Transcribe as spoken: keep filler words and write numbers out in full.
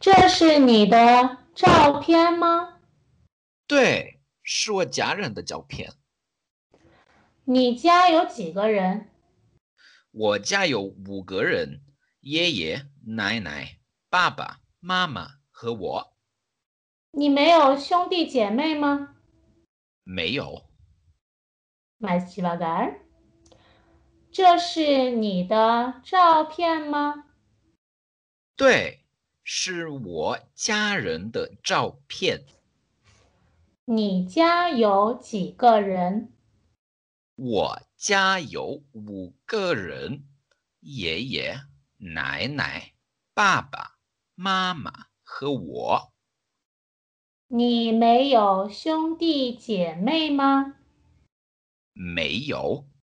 这是你的照片吗？ 对，是我家人的照片。 你家有几个人？ 我家有五个人，爷爷、奶奶、爸爸妈妈和我。 你没有兄弟姐妹吗？ 没有。 Mais devagar。这是你的照片吗？ 对，是我家人的照片。 你家有几个人？ 我家有五个人，爷爷、奶奶、爸爸妈妈和我。 你没有兄弟姐妹吗？ 没有。